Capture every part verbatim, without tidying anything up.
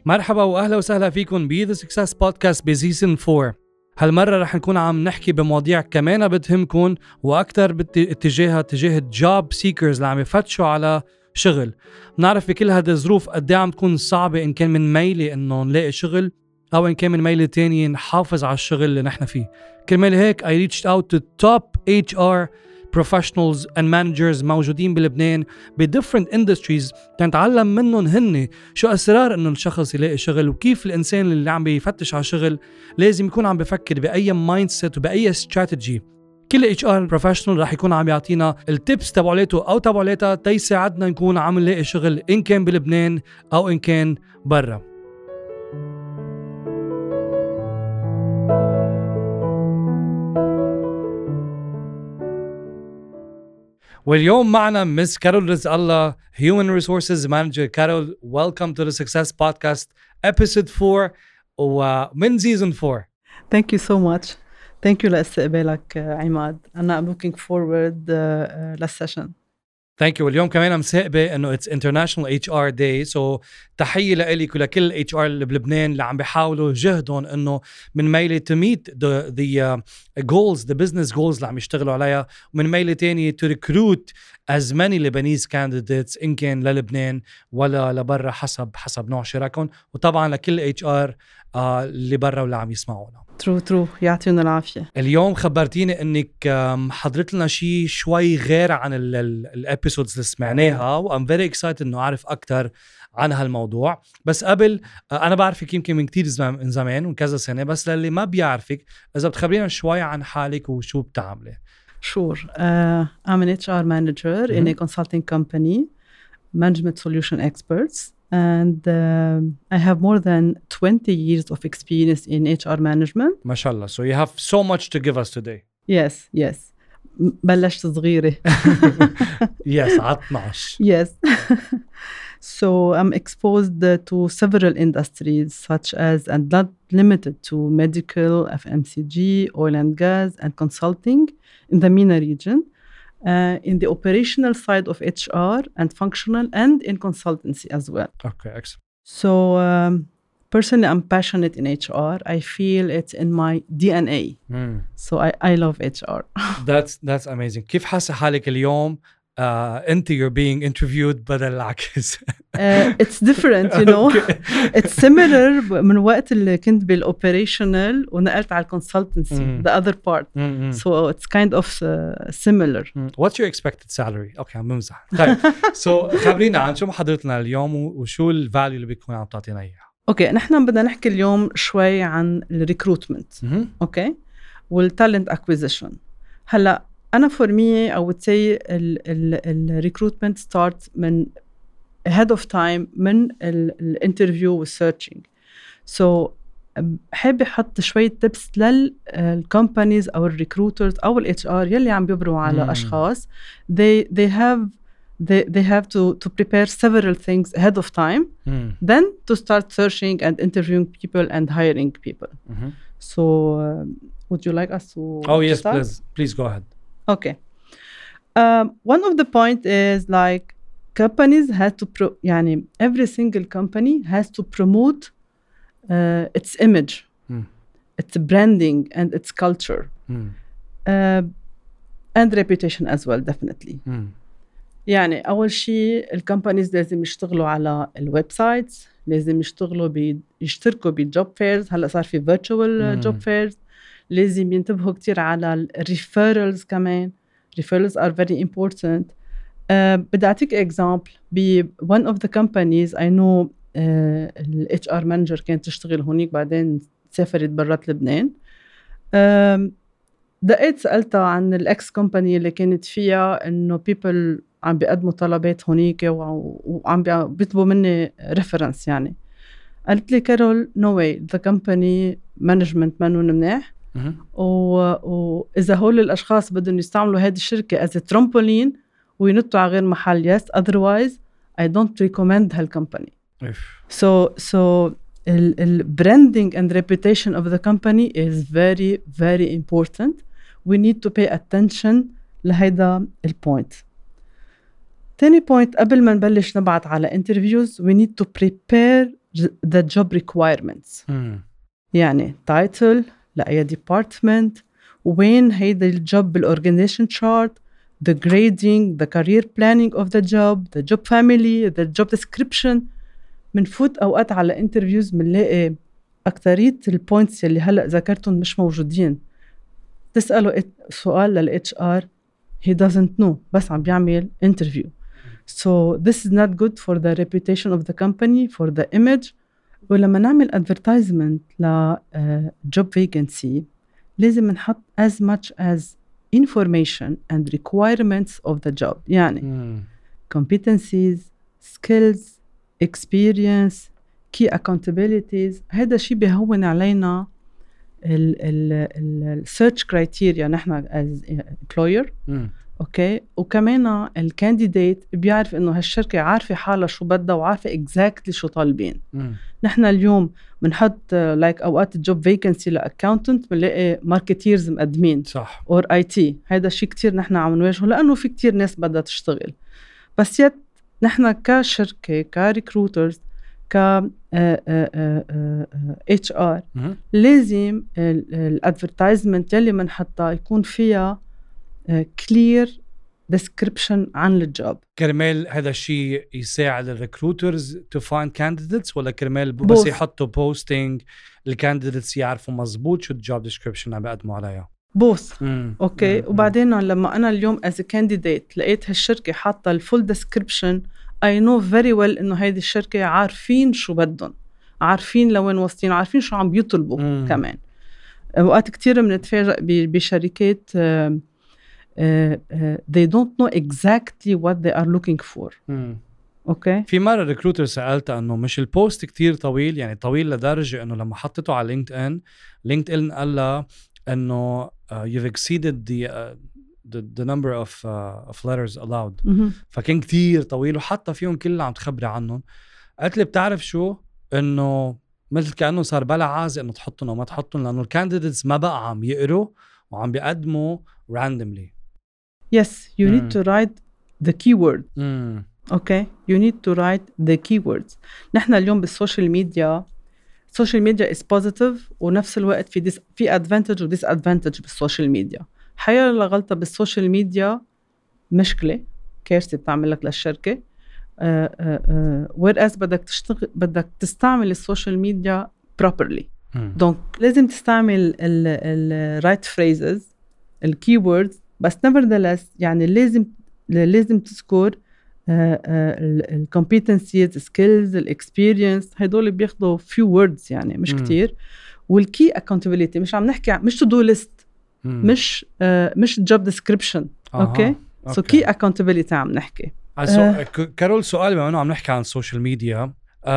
مرحبا واهلا وسهلا فيكم ب The Success Podcast بسيزن فور. هالمرة رح نكون عم نحكي بمواضيع كمان بتهمكم واكثر باتجاهها اتجاه الجوب سيكرز اللي عم يفتشوا على شغل. بنعرف بكل هذه الظروف قد ايه عم تكون صعبة، ان كان من ميلة انه نلاقي شغل او ان كان من ميلة تانية نحافظ على الشغل اللي نحن فيه. كرمال هيك I reached out to top إتش آر professionals and managers موجودين بلبنان ب different industries تنتعلم منهم هن شو أسرار إنه الشخص يلاقي شغل، وكيف الإنسان اللي عم بيفتش على شغل لازم يكون عم بفكر بأي mindset وبأي strategy. كل إتش آر professional رح يكون عم يعطينا التيبس تبعولته أو تبعولتها تيساعدنا نكون عم نلاقي شغل إن كان بلبنان أو إن كان برا. واليوم معنا مس كارول رزق الله Human Resources Manager. كارول, welcome to the Success Podcast episode four ومن season four. Thank you so much. Thank you لاستقبالك عماد. أنا I'm looking forward uh, uh, للسيشن. Thank you. واليوم كمان مساقبة إنه it's International إتش آر Day. So تحية لإلك ولكل إتش آر اللي بلبنان اللي عم بيحاولوا جهدهم إنه من ميلة to meet the the uh, goals, the business goals اللي عم يشتغلوا عليها، ومن ميلة تانية to recruit as many Lebanese candidates إن كان للبنان ولا لبرا حسب حسب نوع شراكهم، وطبعا لكل إتش آر uh, اللي برا واللي عم يسمعونا. ترو ترو يعطينا العافية. اليوم خبرتيني انك حضرت لنا شيء شوي غير عن الابيسودز اللي سمعناها، وام فيري اكسايتد انه اعرف اكثر عن هالموضوع. بس قبل انا بعرفك يمكن من كتير من زمان من كذا سنه، بس للي ما بيعرفك اذا بتخبرينا شوي عن حالك وشو بتعملي. Sure. Uh, I'm an إتش آر manager mm-hmm. in a consulting company, management solution experts. And uh, I have more than twenty years of experience in إتش آر management. ما شاء الله. So you have so much to give us today. Yes, yes. بلشت صغيرة. Yes, عطناش. Yes. So I'm exposed to several industries such as, and not limited to, medical, F M C G, oil and gas, and consulting in the MENA region. Uh, in the operational side of إتش آر and functional and in consultancy as well. Okay, excellent. So um, personally, I'm passionate in إتش آر. I feel it's in my D N A. Mm. So I, I love إتش آر. That's that's amazing. كيف حاسة حالك اليوم uh, أنت you're being interviewed بدل العكس؟ uh, it's different, you know. Okay. It's similar من وقت اللي كنت بالoperational ونقلت على consultancy, mm. the other part. Mm-hmm. So it's kind of uh, similar. Mm. What's your expected salary? Okay, عم بمزح. طيب. So خبرينا عن شو محضرتنا اليوم وشو الفاليو اللي بيكون عم تعطينا إياها. اوكي okay, نحن بدنا نحكي اليوم شوي عن الريكروتمنت. اوكي والتالنت اكويزيشن. هلا انا for me I would say الريكروتمنت start من ahead of time من الانترفيو والسيرشنج. so حابة احط شوية tips للكومبانيز او الريكروترز او الاتش ار يلي عم بيبروا على mm. اشخاص. they they have They they have to to prepare several things ahead of time, mm. then to start searching and interviewing people and hiring people. Mm-hmm. So, uh, would you like us to? Oh yes, start? please, please go ahead. Okay. Um, one of the point is like companies have to pro. يعني every single company has to promote uh, its image, mm. its branding, and its culture, mm. uh, and reputation as well, definitely. Mm. يعني أول شيء الكمبانيز لازم يشتغلوا على الويب سايتس، لازم يشتغلوا بي يشتركوا بالجوب فيرز. هلأ صار في virtual جوب فيرز. لازم ينتبهوا كتير على الريفيرلز كمان. referrals are very important. uh, بدي أعطيك example ب one of the companies I know. uh, ال إتش آر manager كانت تشتغل هونيك بعدين سافرت برات لبنان. uh, دقيت سألتها عن الإكس كومباني اللي كانت فيها إنه people عم بيقدموا طلبات هونيك وعم بيطلبوا مني ريفرنس. يعني قالت لي كارول no way, the company management منهم منيح، وإذا هول الأشخاص بدهم يستعملوا هذه الشركة as a trampoline وينطوا على غير محل yes, otherwise I don't recommend هالكمباني. so so the branding and reputation of the company is very very important. we need to pay attention لهيدا البوينت. تاني point قبل ما نبلش نبعت على interviews we need to prepare the job requirements. مم. يعني title لأي department, وين هيدا الجوب بالorganization chart, the grading, the career planning of the job, the job family, the job description. منفوت أوقات على interviews منلاقي أكترية البوينتس اللي هلأ ذكرتهم مش موجودين. تسأله سؤال لل إتش آر, he doesn't know, بس عم بيعمل interview. So this is not good for the reputation of the company, for the image. ولما نعمل advertisement ل uh, job vacancy لازم نحط as much as information and requirements of the job. يعني mm. competencies, skills, experience, key accountabilities. هذا شيء بيهون علينا ال ال ال search criteria نحن as employer. mm. اوكي, وكمان الكانديديت بيعرف انه هالشركه عارفه حالها شو بدها وعارفه اكزاكتلي شو طالبين. نحن اليوم بنحط لايك like اوقات الجوب فيكنسي لاكاونتنت بنلاقي ماركتيرز مقدمين صح اور اي تي. هذا شيء كتير نحن عم نواجهه لانه في كتير ناس بدها تشتغل, بس يت نحن كشركه كريكروترز ك اتش ار لازم الادفرتايزمنت يلي بنحطها يكون فيها clear description عن الجوب. كرمال هذا الشيء يساعد الريكروترز to find candidates, ولا كرمال بس يحطوا posting الكانديديتس يعرفوا مزبوط شو الجوب description عم بيقدموا عليها؟ بوث. اوكي, وبعدين لما انا اليوم as a candidate لقيت هالشركه حاطه الفول description, I know very well انه هيدي الشركه عارفين شو بدهم, عارفين لوين واصلين, عارفين شو عم بيطلبوا. مم. كمان اوقات كتير بنتفاجئ بشركات uh, Uh, uh, they don't know exactly what they are looking for. مم. اوكي, في مره ريكروتر سالته انه مش البوست كتير طويل, يعني طويل لدرجه انه لما حطيته على لينكد ان لينكد ان قال لها انه uh, you've exceeded the uh, the, the number of uh, of letters allowed. mm-hmm. فكان كتير طويل وحتى فيهم كل اللي عم تخبري عنهم. قالت لي بتعرف شو, انه مثل كانه صار بلا عازة انه تحطهم او ما تحطهم, لانه الكانديديتس ما بقى عم يقروا وعم بيقدموا randomly. Yes, you mm. need to write the keyword. Mm. Okay, you need to write the keywords. نحن اليوم بالسوشيال ميديا, السوشيال ميديا is positive ونفس الوقت في dis في advantage و disadvantage بالسوشيال ميديا. حياة لغلطة بالسوشيال ميديا مشكلة كارثة بتعمل لك للشركة. uh, uh, uh, whereas بدك تشتغل بدك تستعمل السوشيال ميديا properly. mm. donc لازم تستعمل ال ال right phrases, ال keywords, بس nevertheless يعني لازم لازم تذكر ال competencies, skills, ال experience. هيدول بياخدوا few words يعني مش مم. كتير. والkey accountability مش عم نحكي مش to do list, مم. مش uh, مش job description. اوكي, so key accountability عم نحكي. uh, كارول, سؤال بما انه عم نحكي عن السوشيال ميديا,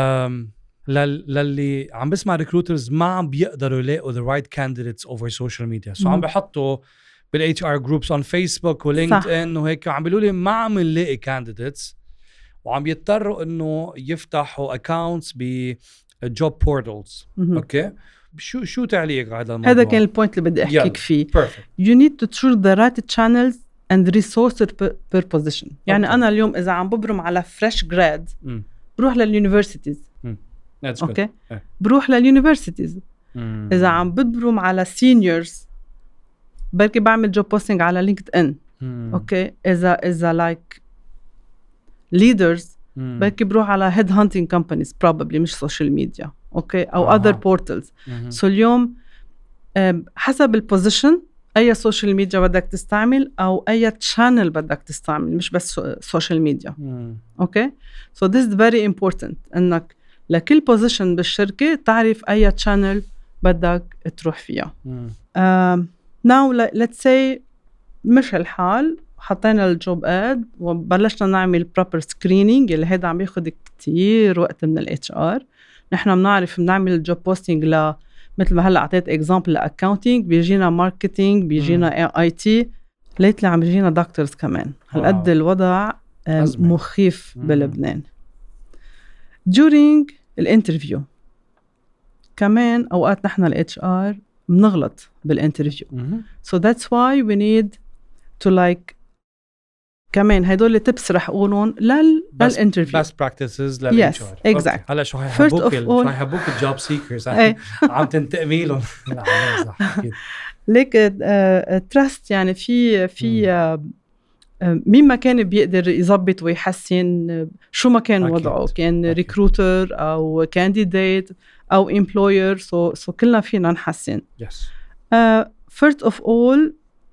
للي عم بسمع ريكروترز ما عم بيقدروا يلاقوا the right candidates over social media, so عم بحطوا بالاتش ار جروبس on فيسبوك ولينكد ان وهيك, عم بيقولوا لي ما عم نلاقي candidates, وعم يضطروا انه يفتحوا accounts بجوب بورتالز. اوكي, شو شو تعليق على هذا الموضوع؟ هذا كان البوينت اللي بدي احكيك فيه. Perfect. you need to choose the right channels and resources per, per position. يعني okay. انا اليوم اذا عم ببرم على fresh grad mm. بروح لليونيفرسيتيز. mm. That's اوكي, okay. yeah. بروح لليونيفرسيتيز. mm. اذا عم ببرم على seniors بركي بعمل جوب بوستينج على لينكد ان. اوكي, اذا اذا لايك ليدرز بركي بروح على هيد هانتينج كومبانيز probably, مش سوشيال ميديا. اوكي, او اذر بورتالز. سو اليوم حسب البوزيشن اي سوشيال ميديا بدك تستعمل او اي تشانل بدك تستعمل, مش بس سوشيال ميديا. اوكي, سو this is very important انك لكل بوزيشن بالشركه تعرف اي تشانل بدك تروح فيها. now let's say مش الحال, حطينا الجوب اد وبلشنا نعمل proper screening اللي هيدا عم ياخد كتير وقت من ال إتش آر. نحن بنعرف بنعمل الجوب بوستينج ل مثل ما هلا اعطيت اكزامبل لاكاونتينج, بيجينا ماركتينج, بيجينا اي تي, ليتلي عم بيجينا دكتورز كمان. هالقد الوضع مخيف بلبنان. during الانترفيو كمان اوقات نحن ال إتش آر بنغلط بالانترفيو. mm-hmm. so that's why we need to like كمان هدول tips رح اقولهم لل للانترفيو best practices لل yes إتش آر. exactly. هلا شو هيحبوك شو هيحبوك الجوب سيكرز عم تنتقمي لهم. ليك تراست يعني في في مين ما كان بيقدر يضبط ويحسن شو ما كان أكيد. وضعه كان ريكروتر او كانديديت او امبلوير سو سو كلنا فينا نحسن. yes. uh, first of all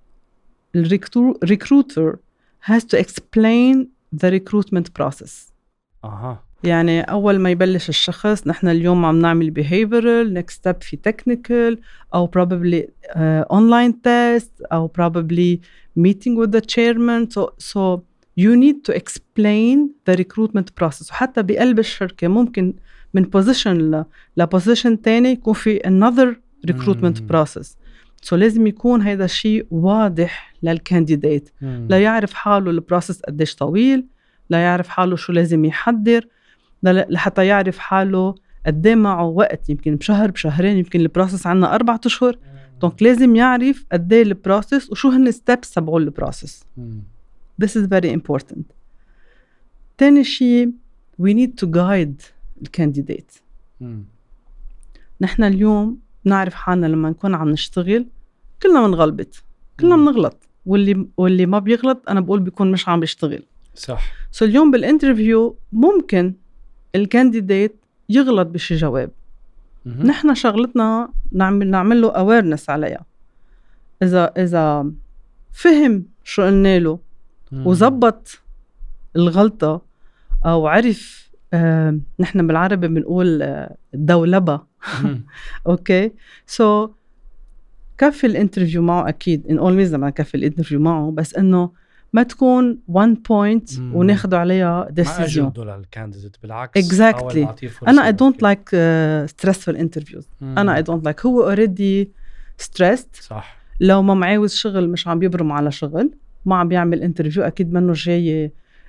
الريكروتر has to explain the recruitment process. اها يعني أول ما يبلش الشخص نحن اليوم عم نعمل behavioral next step في technical أو probably uh, online test أو probably meeting with the chairman so so you need to explain the recruitment process. وحتى بقلب الشركة ممكن من position ل ل position تاني يكون في another recruitment mm. process. so لازم يكون هذا الشيء واضح للكانديديت mm. لا يعرف حاله البروسيس قديش طويل لا يعرف حاله شو لازم يحضر لحتى يعرف حاله قديه معه وقت يمكن بشهر بشهرين يمكن البروسيس عنا أربعة أشهر دونك لازم يعرف قديه البروسيس وشو هن ستيبس تبعوا البروسيس. This is very important. تاني شيء we need to guide الكانديديت. نحن اليوم نعرف حالنا لما نكون عم نشتغل كلنا منغلبط كلنا منغلط واللي واللي ما بيغلط أنا بقول بيكون مش عم بيشتغل. صح. سو so اليوم بالانترفيو ممكن الكانديديت يغلط بشي جواب م-م. نحن شغلتنا نعمل نعمل له awareness عليها. إذا إذا فهم شو قلنا له وزبط الغلطة أو عرف آه نحن بالعربي بنقول آه الدولبة أوكي سو so كفي الانترفيو معه أكيد in all ways لما كفي الانترفيو معه بس إنه ما تكون one point وناخده عليها decision. ما أجلدوا للكانديديت بالعكس. exactly. أنا I don't like uh, stressful interviews. مم. أنا I don't like هو already stressed. صح. لو ما معاوز شغل مش عم بيبرم على شغل ما عم بيعمل انترفيو أكيد منه جاي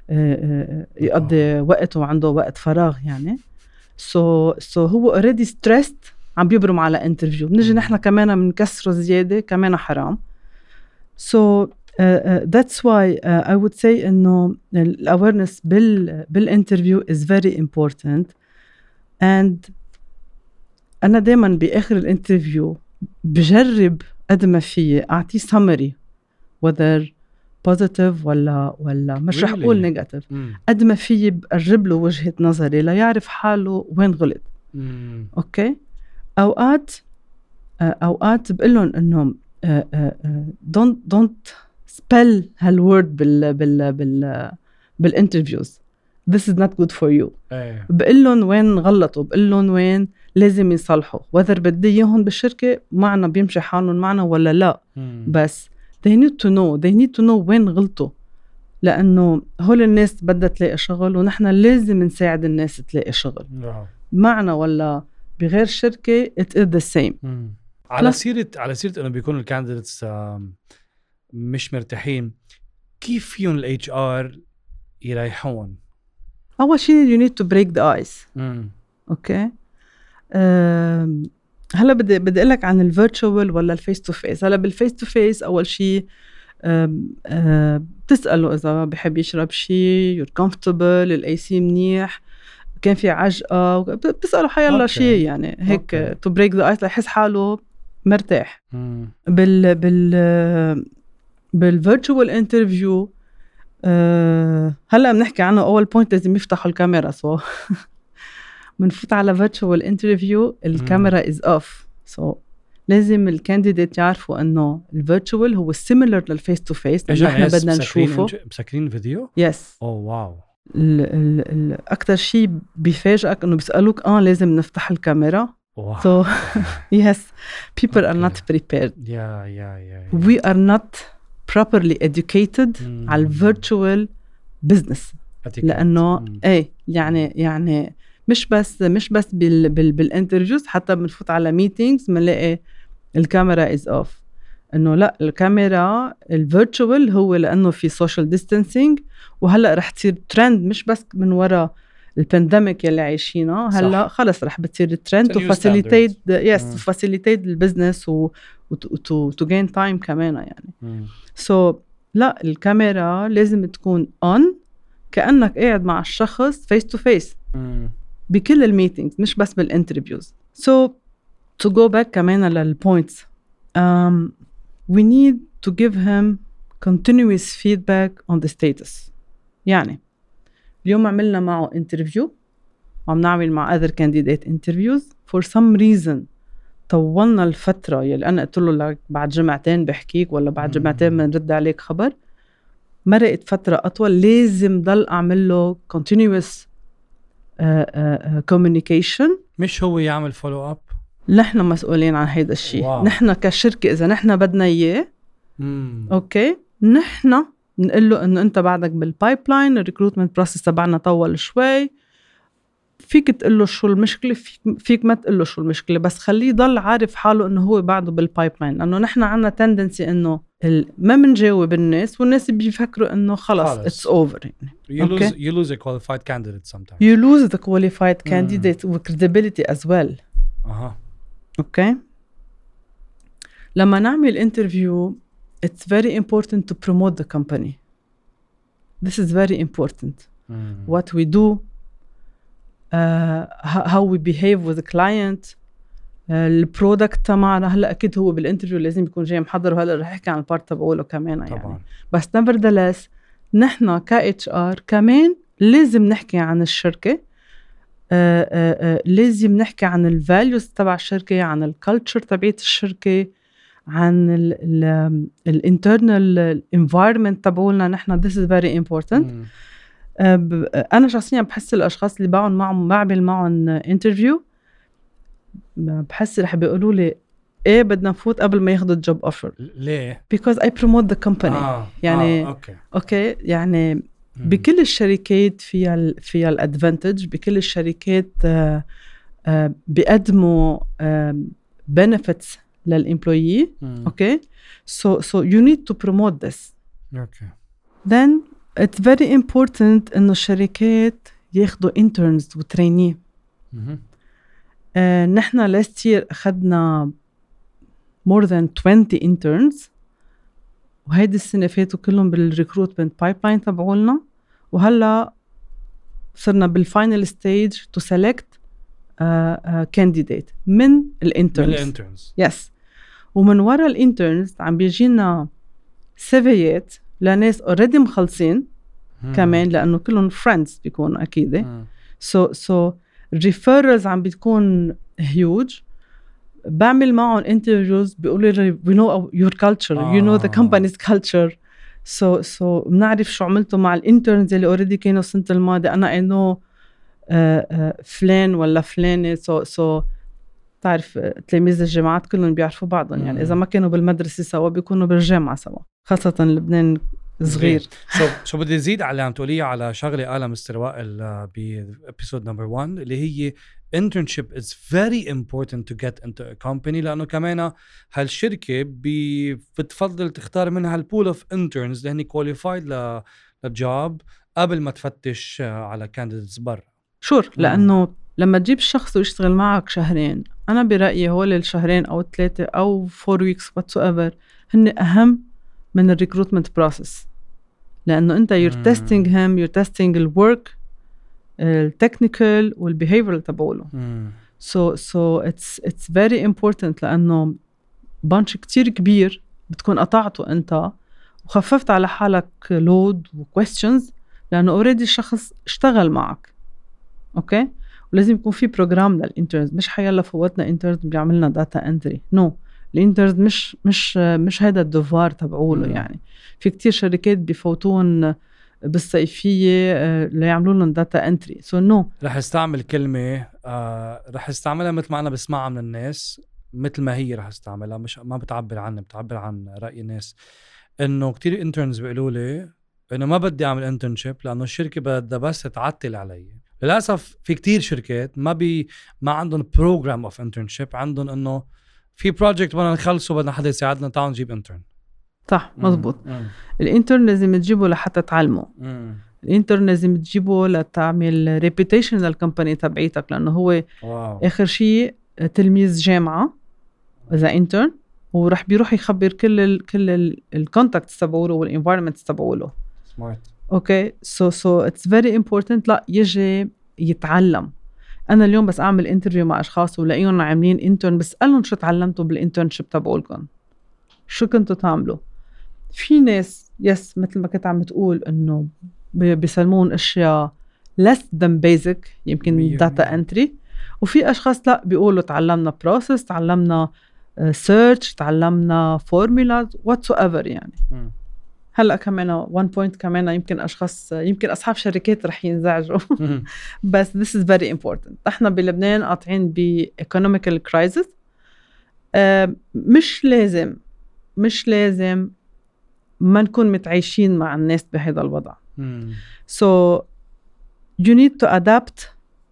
يقضي وقته وعنده وقت فراغ يعني. so so هو already stressed عم بيبرم على انترفيو بنجي نحن كمان منكسره زيادة كمان حرام. so Uh, uh, that's why uh, I would say إنه الawareness بال بالinterview is very important and أنا دايماً بآخر الانترفيو بجرب قد ما فيه أعطيه summary whether positive ولا ولا مش really? رح أقول negative mm. قد ما فيه بقرب له وجهة نظري لا يعرف حاله وين غلط. mm. أوكي أوقات uh, أوقات بقولهم إنهم uh, uh, uh, don't don't spell هالword بال بال بال بالinterviews this is not good for you. أيه. بقلن وين غلطوا بقلن وين لازم يصلحوا whether بدي إياهم بالشركة معنا بيمشي حالهم معنا ولا لا. مم. بس they need to know they need to know وين غلطوا لأنه هول الناس بدها تلاقي شغل ونحن لازم نساعد الناس تلاقي شغل. نعم. معنا ولا بغير شركة it is the same. مم. على سيرة على سيرة إنه بيكونوا الكانديديتس مش مرتاحين كيف فيهم ال إتش آر يريحون؟ أول شيء you need to break the ice. أوكي أه هلا بدي بدي أقول لك عن الفيرتشوال ولا الفيس تو فيس. هلا بالفيس تو فيس أول شيء أه أه بتسأله إذا بحب يشرب شيء you're comfortable الأي سي منيح كان في عجقة بتسأله حيالله شيء يعني هيك okay. to break the ice ليحس حاله مرتاح. مم. بال بال بالفيرتشوال انترفيو أه هلا بنحكي عنه اول بوينت لازم يفتحوا الكاميرا سو بنفوت على فيرتشوال انترفيو الكاميرا از اوف سو لازم الكانديديت يعرفوا انه الفيرتشوال هو سيميلر للفيس تو فيس لانه احنا بدنا نشوفه. مسكرين فيديو يس اوه واو اكثر شيء بيفاجئك انه بيسالوك اه لازم نفتح الكاميرا. Wow. So yes people okay. are not prepared. yeah yeah yeah, yeah. we are not properly educated mm. على virtual business لأنه mm. ايه يعني يعني مش بس مش بس بال بال بالانترفيوز حتى بنفوت على ميتينجز بنلاقي الكاميرا is off انه لا الكاميرا الفيرتشوال هو لأنه في social distancing وهلا رح تصير ترند مش بس من وراء البانديميك يلي عايشينه هلا خلص رح بتصير الترند تو فاسيليتيت يس تو فاسيليتيت البزنس و تو تو جين تايم كمان يعني. سو لا الكاميرا لازم تكون on كأنك قاعد مع الشخص face to face مم. بكل الميتينجز مش بس بالانترفيوز. so to go back كمان للpoints um, we need to give him continuous feedback on the status. يعني اليوم عملنا معه interview وعم نعمل مع other candidate interviews for some reason طولنا الفترة يلي أنا قلت له لك بعد جمعتين بحكيك ولا بعد جمعتين بنرد عليك خبر، مرقت فترة أطول، لازم ضل أعمل له continuous uh, uh, communication. مش هو يعمل follow up؟ نحن مسؤولين عن هيدا الشيء. نحن كشركة إذا نحن بدنا إياه أوكي نحن نقول له إنه أنت بعدك بالبايبلاين، الريكروتمنت بروسيس تبعنا طول شوي، فيك تقول له شو المشكلة، فيك, فيك ما تقول له شو المشكلة، بس خليه يضل عارف حاله إنه هو بعده بالبايبلاين. لأنه نحن عنا تندنسي إنه ما منجاوب الناس والناس بيفكروا إنه خلاص it's over يعني. you lose okay? you lose a qualified candidate sometimes. you lose the qualified candidate with credibility as well. أها أوكي. لما نعمل interview it's very important to promote the company. This is very important. mm. what we do, uh, how we behave with the client, البرودكت تبعنا. هلا اكيد هو بالانترفيو لازم يكون جاي محضر، وهلا رح احكي عن البارت تبعوله كمان يعني طبعا. بس nevertheless نحن ك إتش آر كمان لازم نحكي عن الشركه، آآ آآ لازم نحكي عن الفاليوز تبع الشركه، عن الكالتشر تبعت الشركه، عن الانترنال انفايرمنت تبعولنا نحن. this is very important. mm. انا شخصيا بحس الاشخاص اللي بعمل معهم بعمل معهم انترفيو بحس رح بيقولوا لي ايه بدنا نفوت قبل ما ياخذوا الجوب اوفر. ليه؟ because I promote the company. آه. يعني آه. أوكي. اوكي يعني مم. بكل الشركات فيها ال فيها الادفانتج، بكل الشركات آه آه بيقدموا آه benefits للامبلويي. اوكي so so you need to promote this. اوكي. then it's very important إنه الشركات ياخدوا interns وتريني. آه نحن last year أخدنا more than twenty interns، وهيدي السنة فاتوا كلهم بالrecruitment pipeline تبعولنا، وهلا صرنا بالفاينل ستيج to select uh, uh, candidate من الانترنز. yes. ومن وراء الانترنز عم بيجينا سيفيات لناس already مخلصين كمان، لأنه كلهم friends بيكونوا أكيد. so so referrals عم بتكون huge. بعمل معهم interviews بيقولوا لي we know your culture, you know the company's culture. so so بنعرف شو عملتوا مع الانترنز اللي already كانوا السنة الماضية. أنا I know uh, uh, فلان ولا فلانة. so so تعرف تلاميذ الجامعات كلهم بيعرفوا بعضهم يعني إذا ما كانوا بالمدرسة سوا بيكونوا بالجامعة سوا، خاصة لبنان صغير. so, شو بدي زيد على عم تقوليه على شغلة قالها مستر وائل بإبيسود نمبر واحد اللي هي internship is very important to get into a company، لأنه كمان هالشركة بتفضل تختار منها البول اوف interns اللي هني qualified للجوب قبل ما تفتش على candidates برا. شور لأنه لما تجيب الشخص ويشتغل معك شهرين، أنا برأيي هول الشهرين أو ثلاثة أو four weeks whatsoever هن أهم من الريكروتمنت بروسيس، لأنه أنت you're mm. testing him, you're testing the work, التكنيكال والbehavioral تبعوله. mm. so so it's it's very important لأنه بانش كتير كبير بتكون قطعته أنت وخففت على حالك load و questions، لأنه already الشخص اشتغل معك. أوكي. ولازم يكون في بروجرام للانترنز، مش حيلا فوتنا انترنز بيعملنا داتا انتري. نو no. الانترنز مش مش مش هذا الدوفار تبعوله. يعني في كتير شركات بيفوتون بالصيفيه ليعملوا لهم داتا انتري. سو نو رح استعمل كلمه آه رح استعملها مثل ما انا بسمعها من الناس، مثل ما هي رح استعملها، مش ما بتعبر عنها، بتعبر عن راي الناس. انه كتير انترنز بيقولوا لي انه ما بدي اعمل انترنشيب لانه الشركه بدها بس تعطل علي. للاسف في كتير شركات ما بي ما عندهم بروجرام اوف انترنشيب، عندهم انه في بروجكت بدنا نخلصه بدنا حدا يساعدنا تعال نجيب انترن. صح مزبوط. الانترن لازم تجيبه لحتى تعلمه. الانترن لازم تجيبه لتعمل ريبيتيشن للكمباني تبعيتك، لانه هو واو. اخر شيء تلميذ جامعه اذا انترن، ورح بيروح يخبر كل ال كل الكونتاكتس تبعوله والانفايرمنتس تبعوله. سمارت. اوكي سو سو اتس فيري امبورتنت لا يجي يتعلم. انا اليوم بس اعمل انترفيو مع اشخاص ولاقيهم عاملين انترن، بسالهم شو تعلمتوا بالانترنشيب تبعولكم، شو كنتوا تعملوا. في ناس يس مثل ما كنت عم تقول انه بيسلمون اشياء less than basic يمكن داتا انتري، وفي اشخاص لا بيقولوا تعلمنا بروسيس، تعلمنا سيرش، تعلمنا فورمولا whatsoever يعني. م. هلا كمان one point كمان يمكن اشخاص يمكن اصحاب شركات رح ينزعجوا بس this is very important. احنا بلبنان قاطعين ب economical crisis. آه مش لازم مش لازم ما نكون متعايشين مع الناس بهذا الوضع. م. so you need to adapt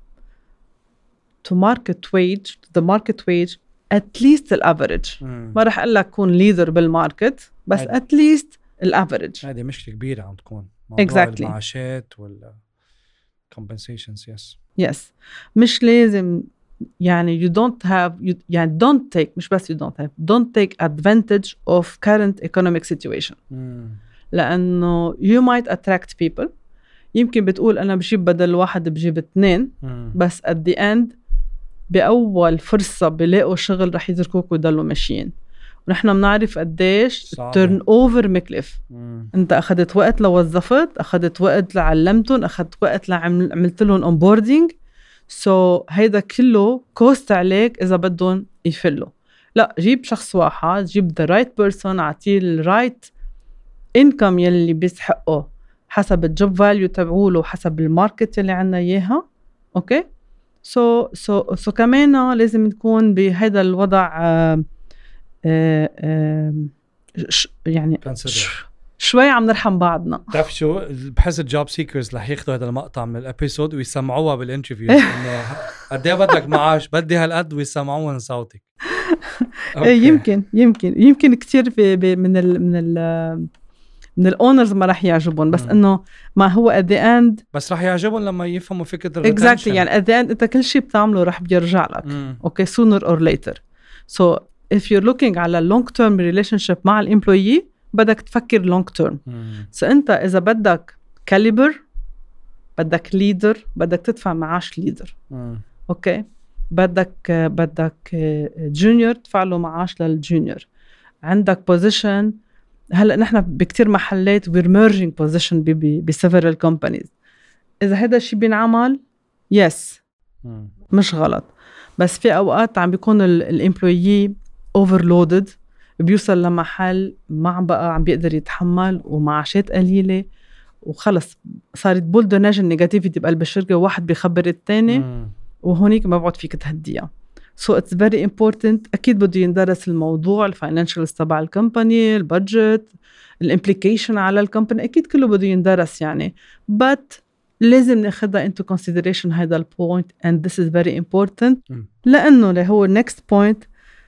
to market wage to the market wage at least the average. م. ما رح اقول لك كون leader بالماركت بس هاد. at least الافريج. هذه مشكلة كبيرة عم تكون موضوع exactly. المعاشات ولا compensations. yes yes مش لازم يعني you don't have you, يعني don't take مش بس you don't have don't take advantage of current economic situation. mm. لأنه you might attract people. يمكن بتقول أنا بجيب بدل واحد بجيب اثنين mm. بس at the end بأول فرصة بلاقوا شغل رح يتركوك ويضلوا ماشيين. ونحن بنعرف قديش turn over مكلف. مم. انت اخذت وقت لوظفت، اخذت وقت لعلمتهم، اخذت وقت لعملت لهم onboarding. سو so, هيدا كله كوست عليك اذا بدهم يفلوا. لا جيب شخص واحد، جيب the right person، اعطيه ال right income يلي بيستحقه حسب الجوب فاليو تبعوله، حسب الماركت يلي عنا اياها. اوكي سو سو سو كمان لازم نكون بهذا الوضع آه آه آه ش يعني ش شوي عم نرحم بعضنا. بتعرف شو بحس الجوب سيكرز رح ياخذوا هذا المقطع من الابيسود ويسمعوها بالانترفيوز انه قد ايه بدك معاش، بدي هالقد، ويسمعوها من صوتك. يمكن يمكن يمكن كثير من ال من ال من الاونرز ما رح يعجبون، بس انه ما هو at the end بس رح يعجبون لما يفهموا فكره الريتنشن. exactly يعني at the end انت كل شيء بتعمله رح بيرجع لك. اوكي okay, sooner or later. so if you're looking على long term relationship مع الامبلويي بدك تفكر long term. so انت اذا بدك caliber، بدك leader، بدك تدفع معاش leader. اوكي okay. بدك بدك junior تدفع له معاش للجونيور. عندك position، هلا نحن بكتير محلات we're merging position ب several companies. اذا هذا الشيء بينعمل yes مش غلط، بس في اوقات عم بيكون الامبلويي overloaded، بيوصل لمحل ما عم بقى عم بيقدر يتحمل ومعاشات قليله وخلص صارت بولدوناج النيجاتيفيتي بقلب الشركه، وواحد بيخبر الثاني وهونيك ما بعد فيك تهديها. so it's very important. أكيد بده يندرس الموضوع، الفاينانشالز تبع الكمباني، البادجت، الامبليكيشن على الكمباني، أكيد كله بده يندرس يعني، but لازم ناخدها into consideration هذا البوينت and this is very important. لأنه اللي هو next point،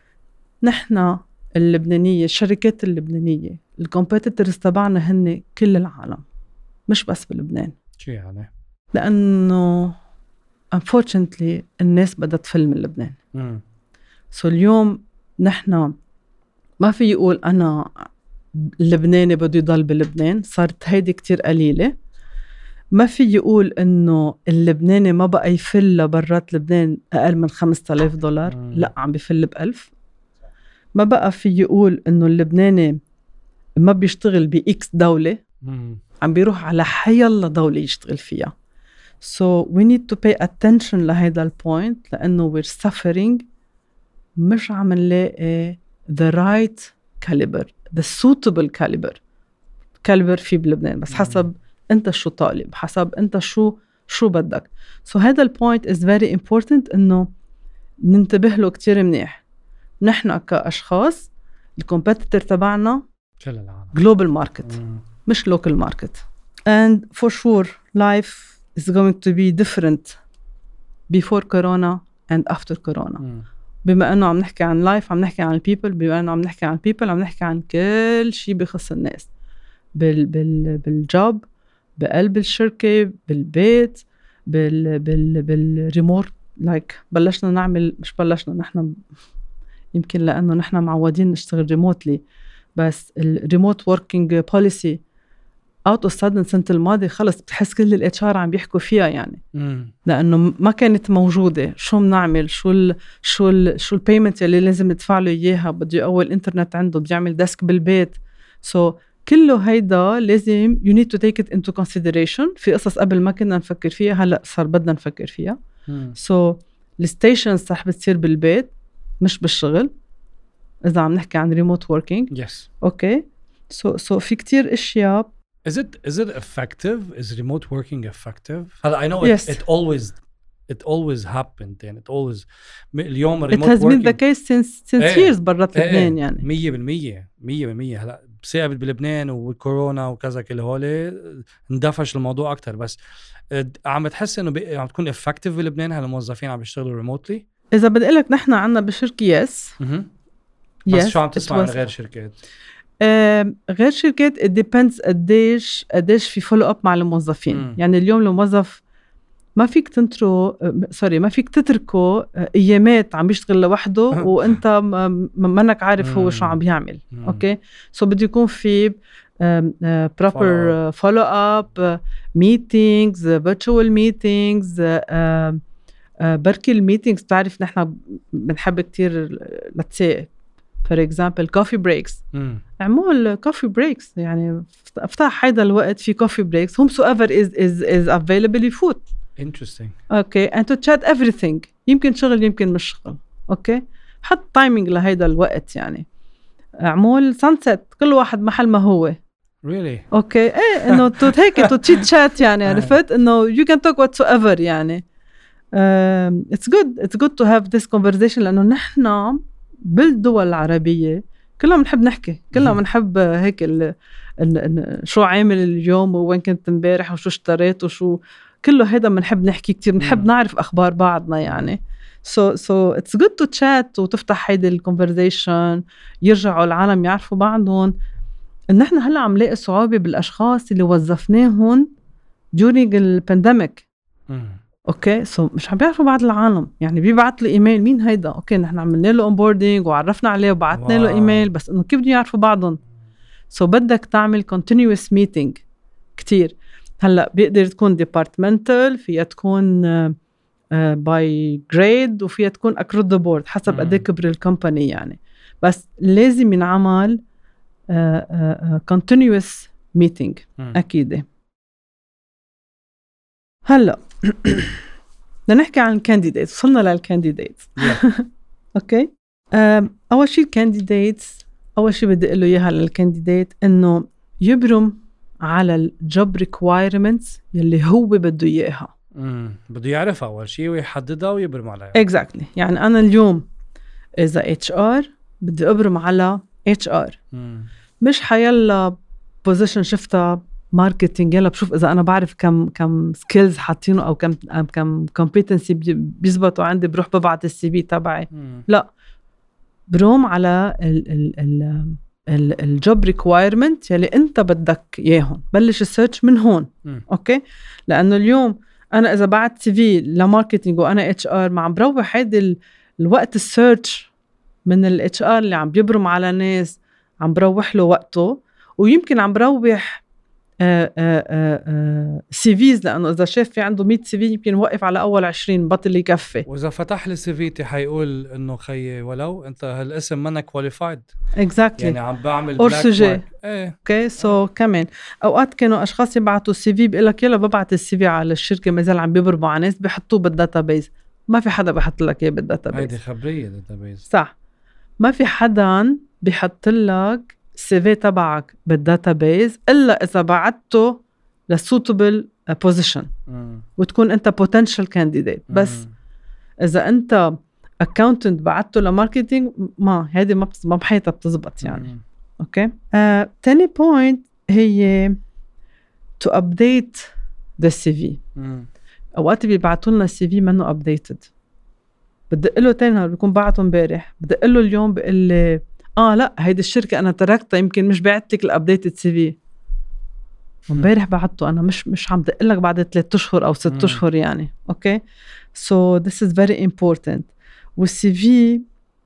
نحن اللبنانية، الشركات اللبنانية، الكومبيتيتورز تبعنا هن كل العالم مش بس بلبنان. شو يعني؟ لأنه unfortunately الناس بدها تفل من لبنان. مم. سو اليوم نحن ما في يقول أنا اللبناني بده يضل بلبنان، صارت هيدي كتير قليلة. ما في يقول إنه اللبناني ما بقى يفل لبرات لبنان أقل من خمسة آلاف دولار. مم. لا عم بيفل بألف. ما بقى في يقول إنه اللبناني ما بيشتغل بإكس دولة. مم. عم بيروح على حيالله دولة يشتغل فيها. So we need to pay attention لهذا البوينت، لأنه we're suffering، مش عم نلاقي the right caliber، the suitable caliber caliber في بلبنان، بس حسب أنت شو طالب، حسب أنت شو شو بدك. so هذا البوينت is very important إنه ننتبه له كتير منيح. نحن كأشخاص الكومبيتيتور تبعنا global market مش local market. and for sure life is going to be different before corona and after corona. mm. بما أنه عم نحكي عن life، عم نحكي عن people، بما أنه عم نحكي عن people، عم نحكي عن كل شيء بخص الناس بال بال بالجوب، بقلب الشركة، بالبيت، بال بال بالريموت. like بلشنا نعمل، مش بلشنا، نحن يمكن لأنه نحن معودين نشتغل ريموتلي، بس الريموت ووركينج بوليسي اوت اوف سادن السنة الماضية خلص بتحس كل الاتش ار عم بيحكوا فيها يعني مم. لأنه ما كانت موجودة. شو بنعمل؟ شو ال شو ال شو البيمنت اللي لازم ندفع له إياها؟ بده أول إنترنت عنده، بده يعمل ديسك بالبيت. سو so, كله هيدا لازم you need to take it into consideration. في قصص قبل ما كنا نفكر فيها هلأ صار بدنا نفكر فيها. سو so, الستيشنز رح بتصير بالبيت مش بالشغل إذا عم نحكي عن remote working. Yes. Okay. So so في كتير إشياء. Is it is it effective? Is remote working effective? I know it, yes. it always it always happened and it always اليوم remote working. It has working been the case since since ايه. years برات ايه. لبنان يعني. مية بالمية مية بالمية هلا بسبب بلبنان والكورونا وكذا كل هولي اندفش الموضوع أكتر. بس عم تحس إنه بي... عم تكون effective بلبنان هالموظفين عم بيشتغلوا remotely؟ إذا بدي أقولك نحن عنا بشركة yes. بس yes. شو عم تسمع عن غير شركات؟ آه، غير شركات it depends قديش قديش في follow up مع الموظفين. م. يعني اليوم الموظف ما فيك تنترو سوري ما فيك تتركه ايامات عم بيشتغل لوحده وانت منك عارف هو شو عم بيعمل. اوكي سو بده يكون في proper follow up meetings virtual meetings. بركي الميتينجز بتعرف نحن بنحب كتير let's say for example coffee breaks. اعمل coffee breaks يعني افتح هيدا الوقت في coffee breaks whomsoever is is is available يفوت. Interesting. Okay and to chat everything. يمكن شغل يمكن مش شغل. اوكي حط تايمينج لهيدا الوقت يعني. اعمل sunset كل واحد محل ما هو. Really? اوكي ايه انه تو هيك تو تشيت شات يعني عرفت انه you can talk whatsoever يعني. um, it's good it's good to have this conversation لانه نحن بالدول العربية كلنا بنحب نحكي كلنا بنحب هيك ال ال شو عامل اليوم وين كنت امبارح وشو اشتريت وشو كله هيدا بنحب نحكي كتير بنحب نعرف أخبار بعضنا يعني. so so it's good to chat وتفتح هيدا الكونفرزيشن يرجعوا العالم يعرفوا بعضهم. إن إحنا هلا عم لاقي صعوبة بالأشخاص اللي وظفناهم during البانديميك. اوكي سو so, مش عم بيعرفوا بعض العالم يعني بيبعت له ايميل مين هيدا اوكي نحن عملنا له اونبوردينج وعرفنا عليه وبعثنا له ايميل بس انه كيف بدهم يعرفوا بعضهم. سو so, بدك تعمل continuous meeting كتير. هلا بيقدر تكون departmental فيها تكون باي uh, جريد uh, وفيها تكون across the board حسب قد ايه كبر الكومباني يعني. بس لازم ينعمل uh, uh, uh, continuous meeting اكيد. هلا بدنا نحكي عن الكانديديت. وصلنا للكانديديت. اوكي اول شيء الكانديديتس اول شيء بدي اقول له اياها للكانديديت انه يبرم على الجوب ريكوايرمنتس يلي هو بده اياها. امم بده يعرفها اول شيء ويحددها ويبرم عليها. اكزاكتلي exactly. يعني انا اليوم اذا اتش ار بدي ابرم على اتش ار مش حيلا بوزيشن شفتها ماركتينج يلا بشوف اذا انا بعرف كم كم سكيلز حاطينه او كم كم كومبيتنسي بيزبطوا عندي بروح ببعت السي في تبعي. لا بروم على ال ال ال الجوب ريكوايرمنت يلي انت بدك اياهم. بلش السيرش من هون. م. اوكي لانه اليوم انا اذا بعت سي في لماركتينج وانا اتش ار ما عم بروح هيدا الوقت السيرش من الاتش ار اللي عم بيبرم على ناس عم بروح له وقته ويمكن عم بروح سي فيز لانه اذا شاف في عنده مية سي في يمكن وقف على اول عشرين بطل يكفي. واذا فتح لي سي في تي حيقول انه خيي ولو انت هالاسم منك كواليفايد. اكزاكتلي يعني عم بعمل بلاك مارك. ايه اوكي سو كمان اوقات كانوا اشخاص يبعتوا السي في بيقول لك يلا ببعت السي في على الشركه ما زال عم بيبرموا على ناس بيحطوه بالداتابيز. ما في حدا بيحط لك اياه بالداتابيز. هيدي خبريه داتابيز صح. ما في حدا بيحط لك السي في تبعك بالداتابيز الا اذا بعته للسوتبل بوزيشن وتكون انت potential candidate. بس اذا انت accountant بعته لماركتينج ما هذه ما ما بحياتها بتزبط يعني. مم. اوكي آه، تاني بوينت هي to update the سي في. اوقات بيبعتوا لنا السي في منه updated بدق له تاني نهار بيكون بعته امبارح بدق له اليوم بقول لي اه لا هيدي الشركه انا تركتها يمكن مش بعتلك الابديتد سي في. امبارح بعته انا مش مش عم دق لك بعد ثلاثة اشهر او ستة اشهر يعني. اوكي سو ذس از فيري امبورتنت. والسي في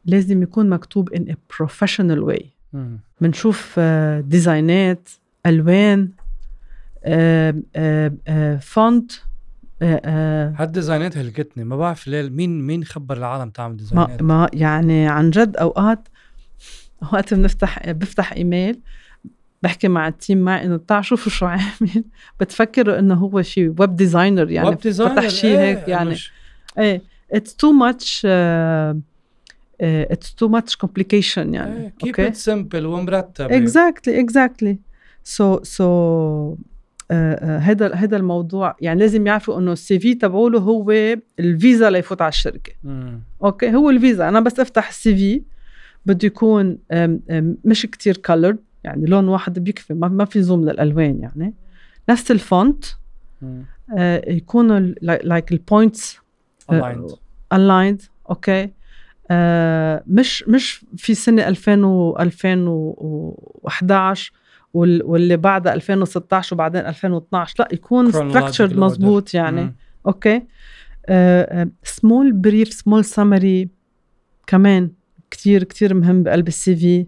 لازم يكون مكتوب in a professional way. مم. منشوف آه، ديزاينات، ألوان، آه، آه، آه، فونت. آه، آه، هالديزاينات هلكتني، ما بعرف ليه مين مين خبر العالم تعمل ما, ديزاينات. ما يعني عن جد أوقات وقت بنفتح بفتح إيميل بحكي مع التيم معي إنه تعال شوفوا شو عامل، بتفكروا إنه هو شيء ويب ديزاينر يعني ويب ديزاينر، فتح شيء ايه هيك يعني مش... ايه it's too much uh, uh, it's too much complication يعني ايه keep okay it simple ومرتب. exactly exactly so so هذا uh, هذا الموضوع يعني لازم يعرفوا إنه السي في تبعوله هو الفيزا ليفوت على الشركة. مم. اوكي هو الفيزا. أنا بس أفتح السي في بده يكون مش كتير colored يعني لون واحد بيكفي، ما في زوم للألوان يعني، نفس الفونت آه يكونوا like البوينتس aligned aligned اوكي آه مش مش في سنة ألفين وأحد عشر واللي بعدها ألفين وستة عشر وبعدين ألفين واثني عشر، لا يكون structured مزبوط يعني. مم. اوكي آه small brief small summary كمان كتير كتير مهم بقلب السي في.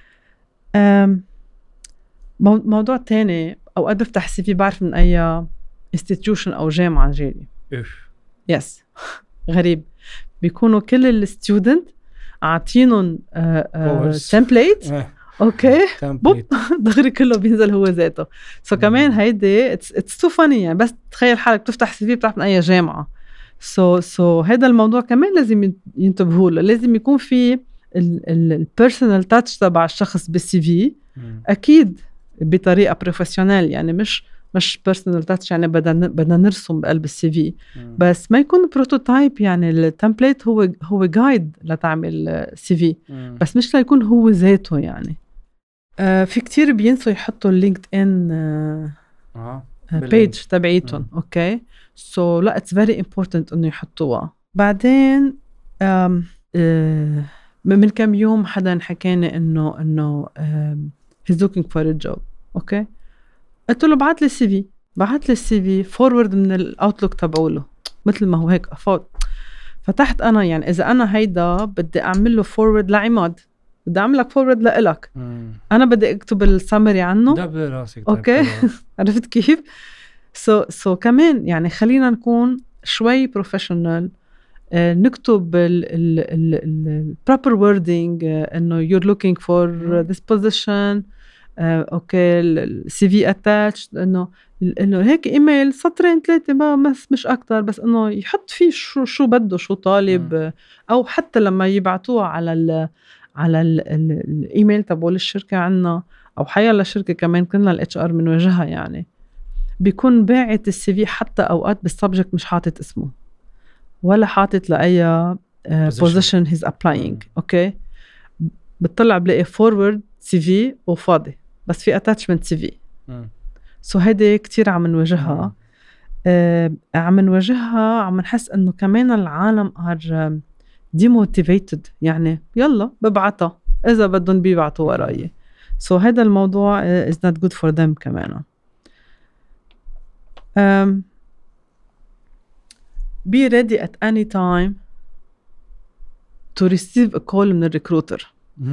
موضوع تاني أوقات بفتح السي في بعرف من أي institution أو جامعة جالي. يس غريب بيكونوا كل الستودنت عاطينهم تمبليت اوكي بوب دغري كله بينزل هو ذاته. سو so كمان هيدي اتس تو فاني يعني، بس تخيل حالك بتفتح سي في بتعرف من أي جامعة. سو so, سو so هذا الموضوع كمان لازم ينتبهوا له، لازم يكون في البيرسونال تاتش تبع الشخص بالسي في اكيد بطريقه بروفيشنال يعني، مش مش بيرسونال تاتش يعني بدنا بدنا نرسم بقلب السي في، بس ما يكون بروتوتايب يعني التمبليت هو هو جايد لتعمل سي في بس مش ليكون هو ذاته يعني. آه في كتير بينسوا يحطوا اللينكد ان آه بيج تبعيتهم. اوكي سو so, لا اتس فيري امبورتنت انه يحطوها. بعدين آم آه من كم يوم حدا حكاني انه انه he's looking for a job. اوكي قلت له بعت لي السي في، بعت لي السي في فورورد من الاوتلوك تبعوله مثل ما هو هيك افوت. فتحت انا يعني اذا انا هيدا بدي اعمل له فورورد لعماد، بدي اعمل لك فورورد لإلك، انا بدي اكتب السمري عنه ده براسك. اوكي عرفت كيف؟ سو so, سو so كمان يعني خلينا نكون شوي بروفيشنال. آه نكتب ال proper wording آه انه you're looking for this position. آه اوكي السي في اتاتش انه انه هيك ايميل سطرين ثلاثه ما بس مش اكتر، بس انه يحط فيه شو شو بده شو طالب. آه او حتى لما يبعتوها على ال على ال ال الايميل تبع الشركه عنا او حيلا شركه كمان كنا الاتش ار من وجهها يعني، بيكون باعت السي في حتى اوقات بالسبجكت مش حاطط اسمه ولا حاطط لاي بوزيشن هيز ابلاينج. اوكي بتطلع بلاقي فورورد سي في وفاضي بس في اتاتشمنت سي في. سو هيدي كتير عم نواجهها. آه عم نواجهها عم نحس انه كمان العالم ار ديموتيفيتد يعني يلا ببعتها اذا بدهم بيبعتوا وراي. سو هذا الموضوع is not good for them كمان. um, be ready at any time to receive a call من الريكروتر.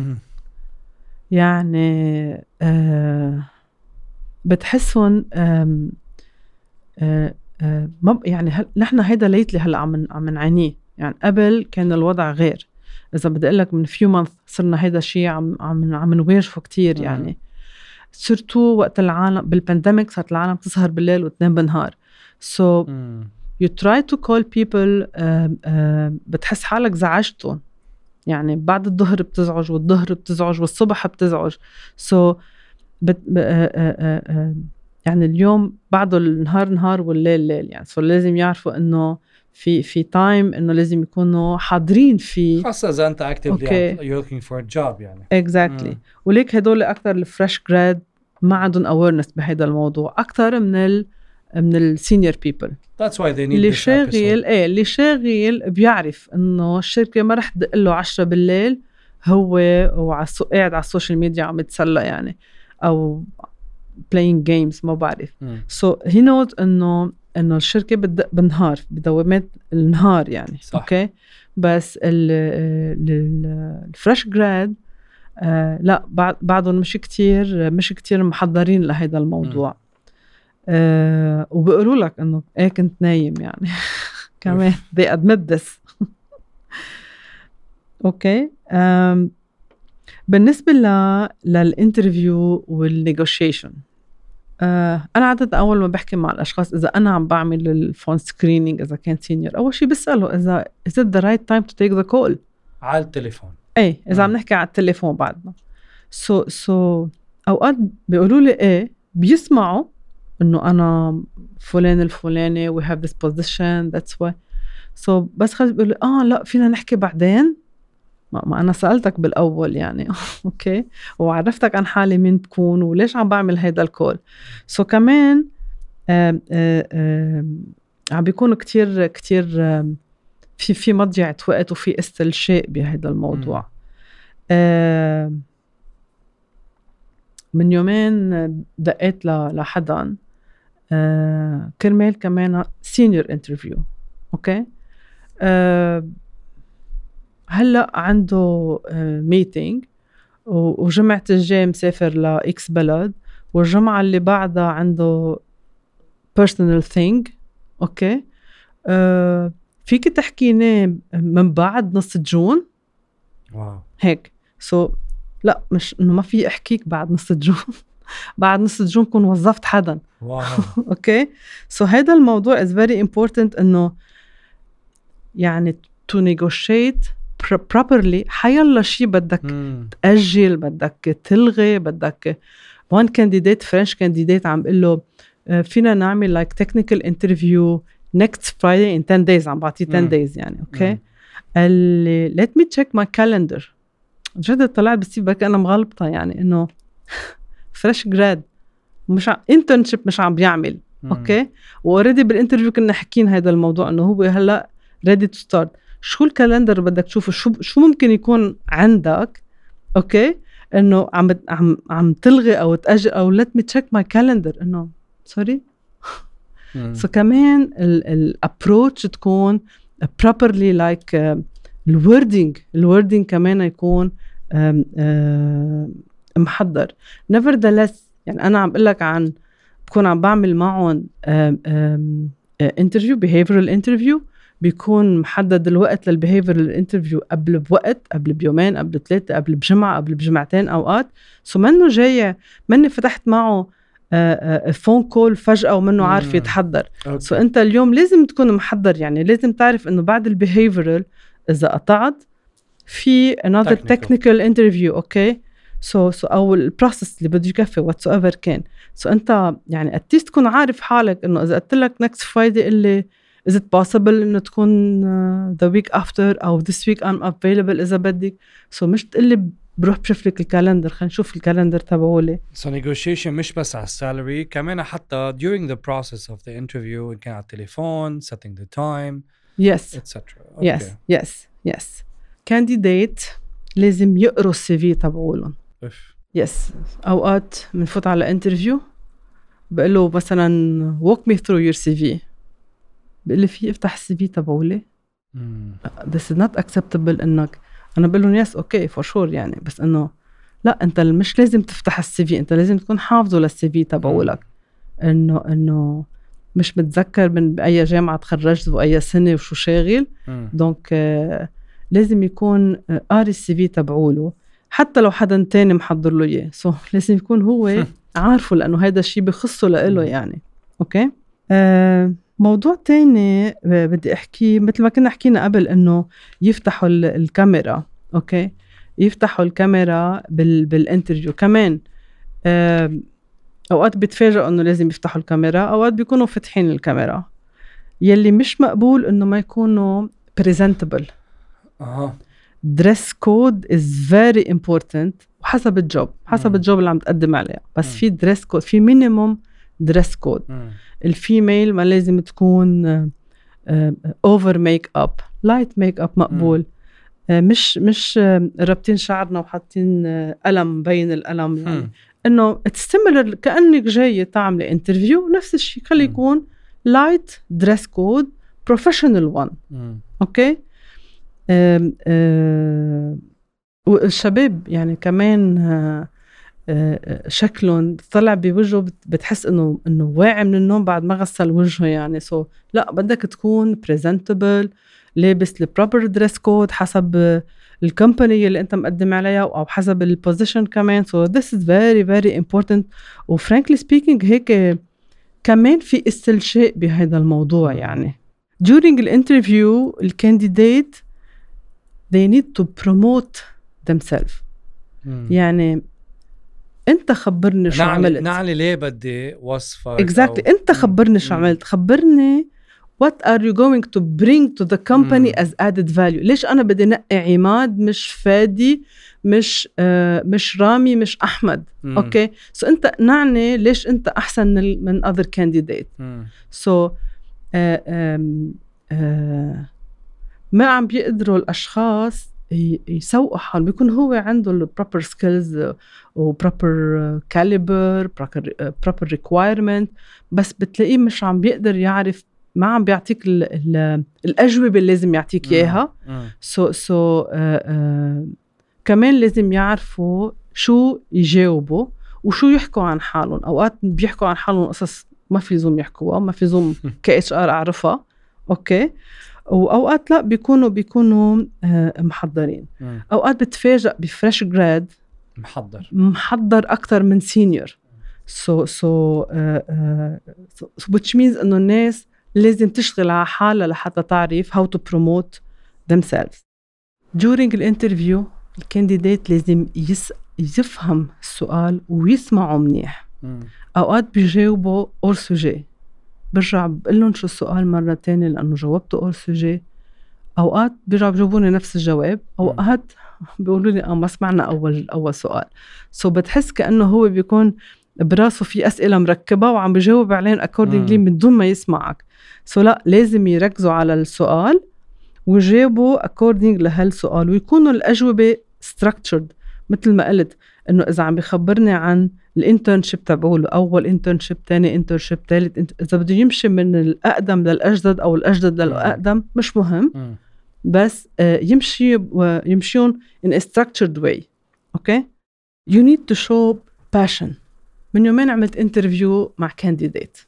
يعني آه بتحسون آه آه آه يعني نحن هيدا ليتلي هلا عم عم نعانيه يعني. قبل كان الوضع غير، إذا بدي أقول لك من few months صرنا هيدا الشيء عم عم عم نواجهه كتير يعني. صرتو وقت العالم بالبانديميك صارت العالم تسهر بالليل وتنام بالنهار. so mm. you try to call people uh, uh, بتحس حالك زعجتهم يعني، بعد الظهر بتزعج والظهر بتزعج والصبح بتزعج. so بت, uh, uh, uh, يعني اليوم بعده النهار نهار والليل ليل يعني. so لازم يعرفوا إنه في في تايم انه لازم يكونوا حاضرين فيه، خاصه اذا انت actively you're looking for a job يعني. exactly. mm. وليك هدول اكثر الفريش جراد ما عندهم awareness بهذا الموضوع اكثر من ال من السينيور بيبل. that's why they need اللي this شاغل episode. ايه اللي شاغل بيعرف انه الشركه ما رح تدق له عشرة بالليل هو وعلى قاعد على السوشيال ميديا عم يتسلى يعني او playing games ما بعرف. mm. so he knows انه انه الشركه بتدق بالنهار بدوامات النهار يعني. صح. اوكي بس الفريش جراد آه لا بعضهم مش كتير مش كتير محضرين لهذا الموضوع. آه وبيقولوا لك انه ايه كنت نايم يعني كمان they admit this. اوكي. um, بالنسبة ل للانترفيو والنيغوشيشن، آه أنا عادة أول ما بحكي مع الأشخاص إذا أنا عم بعمل الفون سكرينينج إذا كان سينيور، أول شيء بسأله إذا is it the right time to take the call على التليفون. أي إذا عم نحكي على التليفون بعدنا. so so أوقات بيقولوا لي إيه بيسمعوا إنه أنا فلان الفلاني we have this position that's why so بس خلص بيقولوا آه لا فينا نحكي بعدين. ما, ما أنا سألتك بالأول يعني أوكي وعرفتك عن حالي مين بكون وليش عم بعمل هيدا الكول. سو so كمان آم آم آم عم بيكونوا كتير كتير في في مضيعة وقت وفي استلشاء بهذا الموضوع. من يومين دقيت لحدا كرمال كمان سينيور انترفيو. أوكي أه هلأ عنده ميتينج وجمعة الجاي مسافر لإكس بلد والجمعة اللي بعدها عنده personal thing. أوكي أه فيك تحكيني من بعد نص جون واو هيك. سو so, لا مش إنه ما في أحكيك بعد نص جون بعد نص جون كون وظفت حدا. واو أوكي سو so, هيدا الموضوع is very important إنه يعني to negotiate properly. حيالله شيء بدك مم. تأجل بدك تلغي بدك one candidate French candidate عم بقله فينا نعمل like technical interview next Friday in ten days عم بعطيه ten days يعني أوكي اللي let me check my calendar. جد طلعت بسيب بك أنا مغلبطة يعني إنه fresh grad مش ع... internship مش عم بيعمل مم. أوكي وأوريدي بالانترفيو كنا حكين هذا الموضوع إنه هو هلأ ready to start. شو الكالندر بدك تشوفه شو شو ممكن يكون عندك اوكي انه عم عم عم تلغي او تاجل او let me check my calendar انه سوري. سو كمان الابروتش تكون properly like الوردينج الوردينج كمان يكون محضر. nevertheless يعني انا عم بقول لك عن بكون عم بعمل معهم interview behavioral interview بيكون محدد الوقت للبيهيفير الانترفيو قبل بوقت قبل بيومين قبل ثلاثة قبل بجمعة قبل بجمعتين أوقات. سو منه جاي مني فتحت معه فون كول فجأة ومنه عارف يتحضر. سو أنت اليوم لازم تكون محضر يعني لازم تعرف إنه بعد البيهيفيرال إذا قطعت في another technical interview. أوكي سو سو أو البروسيس اللي بده يكفي whatsoever كان. سو أنت يعني أتيست تكون عارف حالك إنه إذا قلت لك next Friday اللي is it possible إنه تكون uh, the week after أو this week I'm available إذا بدك. so مش تقلي بروح بشوف لك الكالندر خلينا نشوف الكالندر تبعولي. so negotiation مش بس على السالري كمان حتى during the process of the interview كان على التليفون setting the time yes et cetera. Okay. yes yes yes candidate لازم يقروا السي في تبعولهم. yes أوقات منفوت على interview بقوله مثلا walk me through your سي في بقول لي في افتح السي في تبعولي. this is not acceptable انك انا بقول لهم يس اوكي فور شور يعني بس انه لا انت مش لازم تفتح السي في انت لازم تكون حافظه للسي في تبعولك انه انه مش متذكر من باي جامعه تخرجت واي سنه وشو شاغل دونك آه لازم يكون آه قاري السي في تبعوله حتى لو حدا تاني محضر له اياه. سو لازم يكون هو عارفه لانه هذا الشيء بخصه له يعني. اوكي آه موضوع تاني بدي أحكي مثل ما كنا حكينا قبل إنه يفتحوا الكاميرا. أوكي يفتحوا الكاميرا بال بالانترفيو كمان. أوقات بتفاجئوا إنه لازم يفتحوا الكاميرا أوقات بيكونوا فتحين الكاميرا. يلي مش مقبول إنه ما يكونوا presentable. أها dress code is very important وحسب الجوب حسب الجوب اللي عم تقدم عليها بس م. في dress code في minimum dress code. م. الفيميل ما لازم تكون اوفر ميك اب لايت ميك اب مقبول. م. مش مش رابطين شعرنا وحاطين قلم مبين القلم يعني انه تستمر كأنك جاية تعملي انترفيو نفس الشيء خلي يكون لايت دريس كود بروفيشنال وان. اوكي آم، آم، والشباب يعني كمان آه، آه، شكلهم طلع بوجهه بت- بتحس انه انه واعي من النوم بعد ما غسل وجهه يعني سو so, لا بدك تكون presentable لابس البروبر دريس كود حسب آه، الكومباني اللي انت مقدم عليها او حسب البوزيشن كمان so this is very very important و frankly speaking هيك آه، كمان في استلشاء بهذا الموضوع يعني during الانترفيو الكانديديت they need to promote themselves مم. يعني انت خبرني شو نعني عملت نعني ليه بدي وصفك exactly أو... انت خبرني شو عملت خبرني what are you going to bring to the company مم. as added value ليش انا بدي نقي عماد مش فادي مش آه مش رامي مش احمد مم. اوكي سو so انت نعني ليش انت احسن من, من other candidate مم. سو so, آه آه آه ما عم بيقدروا الاشخاص يسوقوا حالهم بيكون هو عنده البروبر سكيلز وبروبر كاليبر بروبر ريكوايرمنت بس بتلاقيه مش عم بيقدر يعرف ما عم بيعطيك ال ال الأجوبة اللي لازم يعطيك إياها سو سو كمان لازم يعرفوا شو يجاوبوا وشو يحكوا عن حالهم أوقات بيحكوا عن حالهم قصص ما في زوم يحكوها ما في زوم كي اتش ار أعرفها أوكي وأوقات لا بيكونوا بيكونوا محضرين م. أوقات بتفاجأ بفريش جراد محضر محضر أكتر من سينيور so so uh, uh, so which means إنه الناس لازم تشتغل على حالها لحتى تعرف how to promote themselves during الانترفيو الكانديديت لازم يس يفهم السؤال ويسمعه منيح م. أوقات بيجاوبوا أور سوجي برجع بقول لهم شو السؤال مرة تانية لأنه جاوبته أول سوجي أوقات بيرجعوا بيجاوبوني نفس الجواب أوقات بيقولوا لي آه ما سمعنا أول أول سؤال سو so بتحس كأنه هو بيكون براسه في أسئلة مركبة وعم بيجاوب عليهم accordingly من دون ما يسمعك سو so لا لازم يركزوا على السؤال ويجاوبوا according لهالسؤال ويكونوا الأجوبة structured مثل ما قلت إنه إذا عم بيخبرني عن الانترنشيب تبعوله أول انترنشيب تاني انترنشيب ثالث انت... إذا بده يمشي من الأقدم للأجدد أو الأجدد للأقدم مش مهم م. بس يمشي يمشيون in a structured way okay you need to show passion من يومين عملت انترفيو مع candidate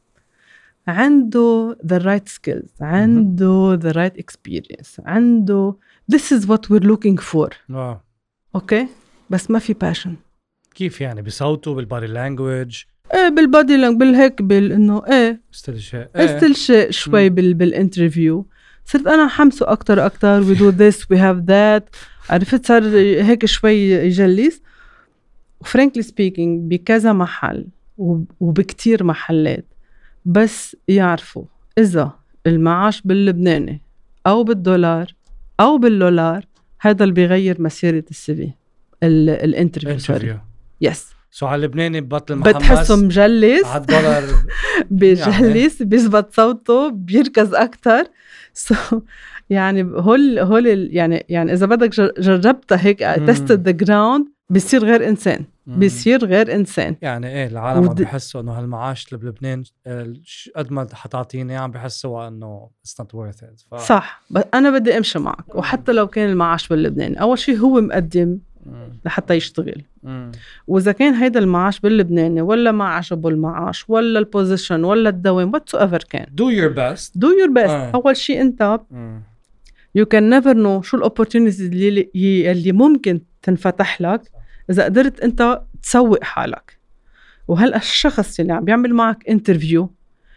عنده the right skills عنده the right experience عنده this is what we're looking for wow. okay بس ما في passion كيف يعني بصوته بالبادي لانجويج ايه بالبادي لانجويج بالهيك بال انه ايه استلشاء ايه استلشاء شوي بال بالانترفيو صرت انا حمسه اكتر اكتر we do this we have that عرفت صار هيك شوي يجلس وفرانكلي سبيكينج بكذا محل وبكتير محلات بس يعرفوا اذا المعاش باللبناني او بالدولار او بالدولار هذا اللي بيغير مسيرة السي في الانترفيو يس سو على اللبناني ببطل محمس بتحسه مجلس على الدولار بيجلس يعني. بيزبط صوته بيركز اكتر سو so, يعني هول هول يعني يعني اذا بدك جربتها هيك تستد ذا جراوند بيصير غير انسان بيصير غير انسان يعني ايه العالم ود... عم بيحسوا انه هالمعاش اللي بلبنان قد ما حتعطيني عم بيحسوا انه it's not worth it ف... صح بس انا بدي امشي معك وحتى لو كان المعاش باللبنان اول شيء هو مقدم لحتى يشتغل مم. وإذا كان هيدا المعاش باللبناني ولا ما عجبه المعاش ولا البوزيشن ولا الدوام whatsoever كان do your best do your best آه. أول شيء أنت مم. you can never know شو الopportunities اللي, اللي ممكن تنفتح لك إذا قدرت أنت تسوق حالك وهل الشخص اللي عم بيعمل معك interview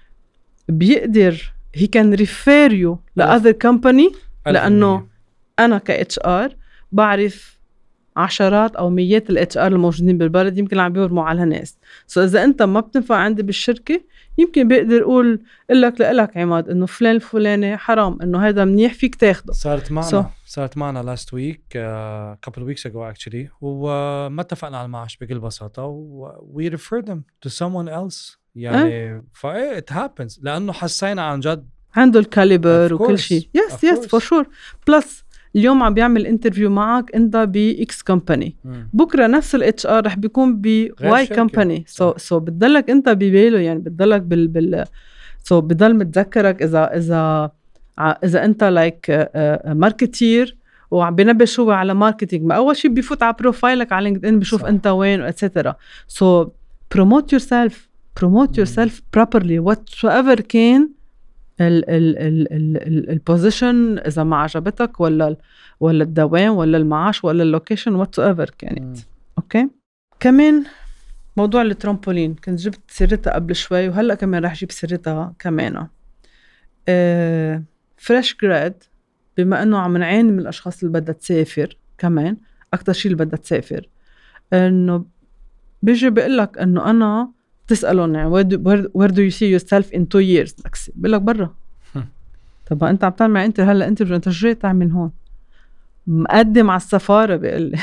بيقدر he can refer you ل other company لأنه أنا ك إتش آر بعرف عشرات أو ميات ال إتش آر الموجودين بالبلد يمكن عم بيورموا على ناس سو إذا أنت ما بتنفع عندي بالشركة يمكن بيقدر يقول لك لك عماد إنه فلان الفلاني حرام إنه هذا منيح فيك تاخده صارت معنا so. صارت معنا last week uh, couple of weeks ago actually وما اتفقنا على المعاش بكل بساطة و we refer them to someone else يعني فا it happens لأنه حسينا عن جد عنده الكاليبر وكل شيء يس يس فور شور بلس اليوم عم بيعمل انترفيو معك انت باكس كومباني بكره نفس الاتش ار رح بيكون بواي كومباني سو سو بتضلك انت بباله يعني بتضلك بال بال سو so بضل متذكرك اذا اذا اذا انت لايك ماركتير وعم بينبش هو على ماركتينج. ما اول شيء بيفوت على بروفايلك على لينكد ان بيشوف صح. انت وين واتسترا. سو promote yourself promote yourself properly whatever كان ال ال ال ال البوزيشن، اذا ما عجبتك ولا ولا الدوام ولا المعاش ولا اللوكيشن whatever كانت. اوكي. كمان موضوع الترامبولين كنت جبت سيرتها قبل شوي وهلا كمان رح جيب سيرتها كمان. آه فريش جراد، بما انه عم نعاني من الاشخاص اللي بدها تسافر، كمان اكتر شيء اللي بدها تسافر، انه بيجي بيقول لك انه انا تسالون يعني where do, where do you see yourself in two years، بقول لك برا. طب انت عم تعمل انت هلا انت انت جاي تعمل هون مقدم على السفاره، بيقول لي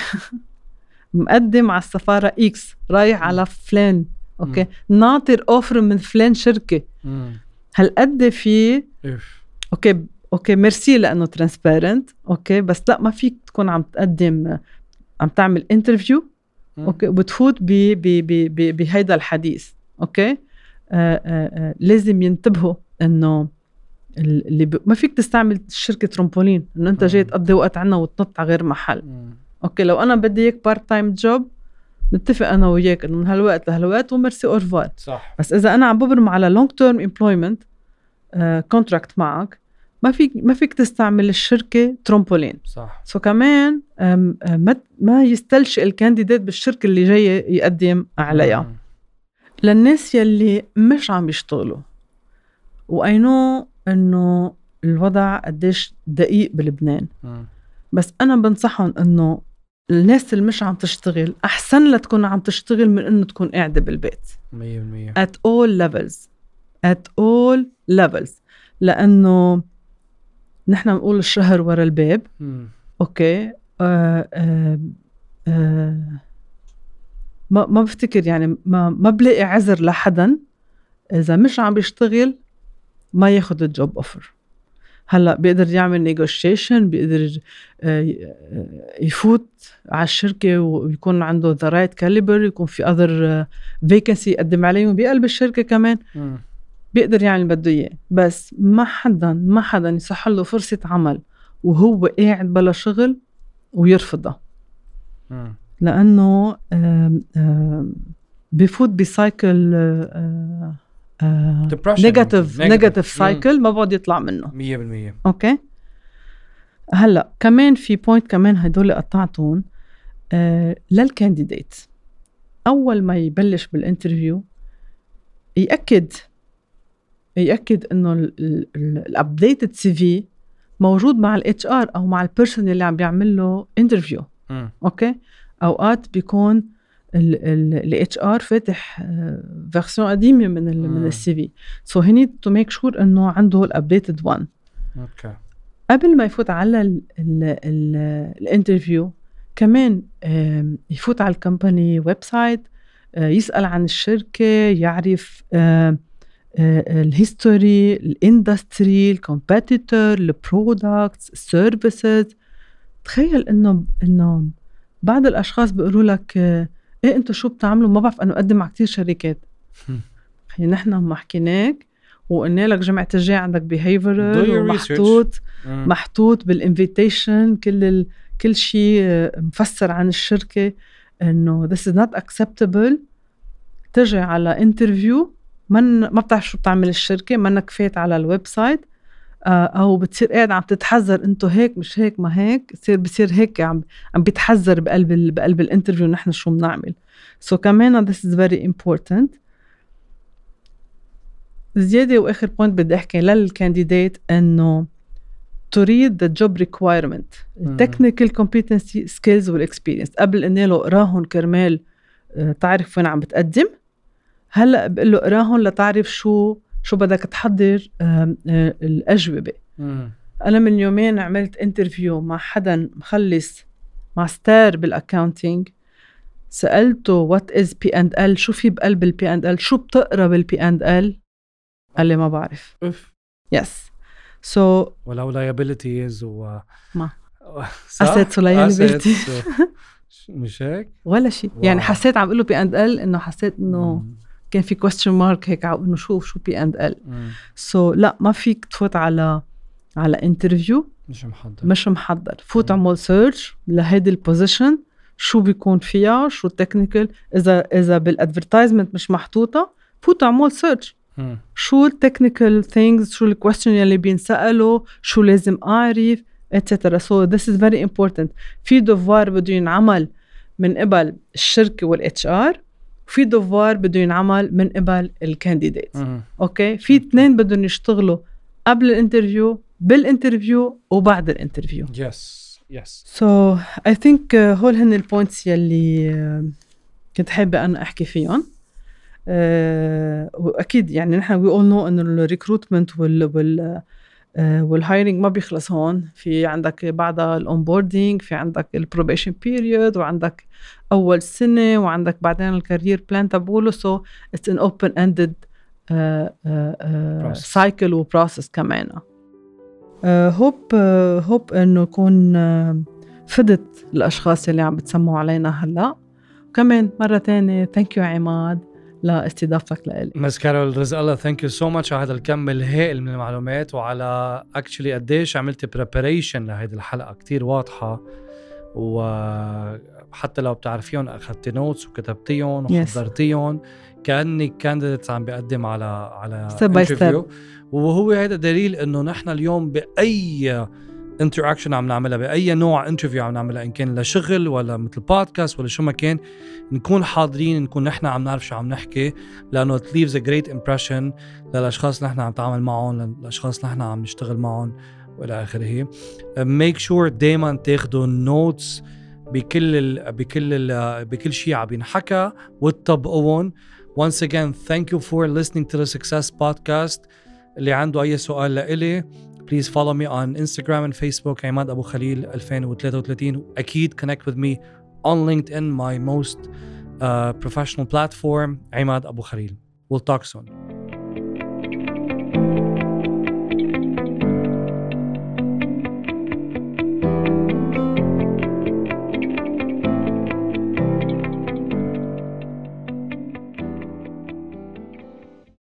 مقدم على السفاره اكس، رايح على فلان، اوكي، ناطر اوفر من فلان شركه. هل قد في اوكي اوكي ميرسي لانه ترانسبيرنت، اوكي، بس لا ما فيك تكون عم تقدم عم تعمل انترفيو اوكي وبتفوت ب ب ب بهيدا الحديث. اوكي. آآ آآ لازم ينتبهوا انه اللي ب... ما فيك تستعمل الشركه ترامبولين انه انت جاي تقضي وقت عنا وتنط على غير محل. مم. اوكي، لو انا بدي اياك بارت تايم جوب نتفق انا وياك انه من هالوقت لهالوقت وميرسي اورفوار. صح. بس اذا انا عم ببرم على لونج تيرم امبلويمنت كونتراكت معك، ما فيك ما فيك تستعمل الشركه ترامبولين. صح. سو كمان أم أم ما يستلشق الكانديديت بالشركه اللي جاي يقدم عليها. مم. للناس يلي مش عم يشتغلوا، واي نو انه الوضع قديش دقيق بلبنان، مم. بس انا بنصحهم انه الناس اللي مش عم تشتغل احسن لا تكون عم تشتغل من انه تكون قاعده بالبيت. مية بالمية at all levels at all levels لانه نحن بنقول الشهر ورا الباب. مم. اوكي. آه آه آه ما ما بفتكر يعني ما ما بلاقي عذر لحدا اذا مش عم بيشتغل ما ياخد الجوب اوفر. هلا بيقدر يعمل نيغوشيشن، بيقدر يفوت على الشركه ويكون عنده ذا رايت كاليبر، يكون في اذر فيكنسي يقدم عليهم بقلب الشركه كمان. م. بيقدر يعمل بده اياه، بس ما حدا ما حدا يصح له فرصه عمل وهو قاعد بلا شغل ويرفضها. م. لانه آم آم بيفوت بسايكل نيجاتيف نيجاتيف سايكل ما بعد يطلع منه مية بالمية. اوكي. هلا كمان في بوينت كمان هدول قطعتهم آه للكانديديت. اول ما يبلش بالانترفيو ياكد ياكد انه الابديتد سي في موجود مع الاتش ار او مع البيرسون اللي عم بيعمل له انترفيو. اوكي. اوقات بيكون ال اتش ار فاتح فيرسيون قديمه من ال من السي في، سو هي نيد تو ميك شور انه عنده الابديتد وان. اوكي. قبل ما يفوت على الانترفيو كمان يفوت على الكمباني ويب سايت، يسال عن الشركه، يعرف الهيستوري، الاندستري، الكومبيتيتور، البرودكتس، السيرفيسز. تخيل انه انه بعض الاشخاص بيقولوا لك ايه انتوا شو بتعملوا؟ ما بعرف، انا اقدم على كتير شركات. يعني نحن ما حكيناك وقلنا لك جمعة الجاي عندك behavioral محطوط محطوط بالinvitation كل ال... كل شيء مفسر عن الشركة انه this is not acceptable. تجي على interview من ما بتعرف شو بتعمل الشركة، منك فات على الويب سايت او بتصير قاعد عم تتحذر انتو هيك مش هيك ما هيك، بصير بصير هيك عم عم بيتحذر بقلب ال... بقلب الانترفيو نحن شو بنعمل. سو so كمان this is very important. زيادة واخر بوينت بدي احكي للكانديديت انه to read the job requirement technical competency skills والاكسبيرينس قبل اني له اقراهم كرمال تعرف وين عم بتقدم. هلا بقول له اقراهم لتعرف شو شو بدك تحضر الأجوبة. مم. أنا من يومين عملت انترفيو مع حدا مخلص ماستر بالأكاونتينج، سألته what is بي أند إل، شو في بقلب البي أند إل، شو بتقرأ بالبي أند إل؟ قال لي ما بعرف. أف. يس. سو. ولو liabilities و. ما. assets و liabilities. مش هيك؟ ولا شيء. يعني حسيت عم بقوله بي أند إل إنه حسيت إنه. مم. كان في question mark هيك انه شو شو بي اند ال. سو لا ما فيك تفوت على على انترفيو مش محضر مش محضر فوت اعمل سيرش لهيدي البوزيشن شو بيكون فيها شو تكنيكال اذا اذا بالادفرتايزمنت مش محطوطه فوت اعمل سيرش شو التكنيكال ثينجز شو الكويستشن يلي بينسالوا شو لازم اعرف etc. so this is very important. في دوفوار بده ينعمل من قبل الشركه والاتش ار وفي دوفوار بده ينعمل من قبل الكانديديت. اوكي في اثنين بدهم يشتغلوا قبل الانترفيو بالانترفيو وبعد الانترفيو. يس يس so I think uh, هول هن البوينتس يلي uh, كنت حابه انا احكي فيهم. uh, واكيد يعني نحن we all know انه الريكروتمنت وال وال uh, والهايرنج ما بيخلص هون. في عندك بعدها الاونبوردينج في عندك البروبيشن بيريود وعندك اول سنه وعندك بعدين الكارير بلان تبعوله. so it's an open ended uh, uh, uh, cycle وبروسس كمان. هوب uh, هوب uh, انه يكون uh, فدت الاشخاص اللي عم بتسمعوا علينا هلا. وكمان مره تانية ثانك يو عماد لاستضافتك لإلي. مس كارول رزق الله ثانك يو سو ماتش على هذا الكم الهائل من المعلومات وعلى اكشلي قديش عملتي بريباريشن لهيدي الحلقه كتير واضحه وحتى لو بتعرفيهم اخذتي نوتس وكتبتيهم وحضرتيهم yes. كأنك كانديديتس عم بيقدم على على انترفيو. وهو هذا دليل انه نحن اليوم باي انتراكشن عم نعملها باي نوع انترفيو عم نعملها ان كان لشغل ولا مثل بودكاست ولا شو ما كان نكون حاضرين نكون نحن عم نعرف شو عم نحكي لانه it leaves a great impression للاشخاص اللي نحن عم نتعامل معهم للاشخاص اللي نحن عم نشتغل معهم والى اخره. make sure دائما تاخذوا نوتس بكل ال بكل ال بكل شيء عم ينحكى وتطبقوهم. once again thank you for listening to the Success Podcast. اللي عنده اي سؤال لإلي please follow me on Instagram and Facebook عماد أبو خليل ألفين وثلاثة وثلاثين. أكيد connect with me on LinkedIn my most uh, professional platform عماد أبو خليل. We'll talk soon.